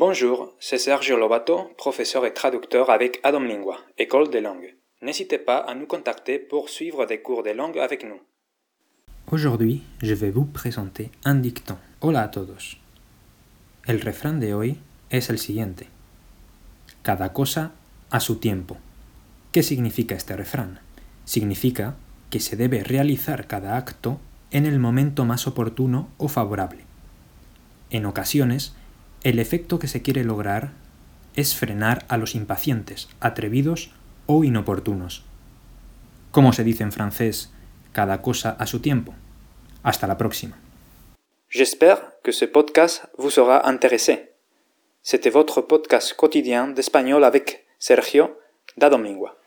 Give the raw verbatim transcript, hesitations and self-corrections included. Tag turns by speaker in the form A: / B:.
A: Bonjour, c'est Sergio Lobato, professeur et traducteur avec Adam Lingua, école de langue. N'hésitez pas à nous contacter pour suivre des cours de langue avec nous.
B: Aujourd'hui, je vais vous présenter un dicton. Hola a todos. El refrán de hoy es el siguiente. Cada cosa a su tiempo. ¿Qué significa este refrán? Significa que se debe realizar cada acto en el momento más oportuno o favorable. En ocasiones, el efecto que se quiere lograr es frenar a los impacientes, atrevidos o inoportunos. ¿Cómo se dice en francés cada cosa a su tiempo? Hasta la próxima.
A: J'espère que ce podcast vous sera intéressé. C'était votre podcast quotidien d'espagnol avec Sergio d'Adam Lingua.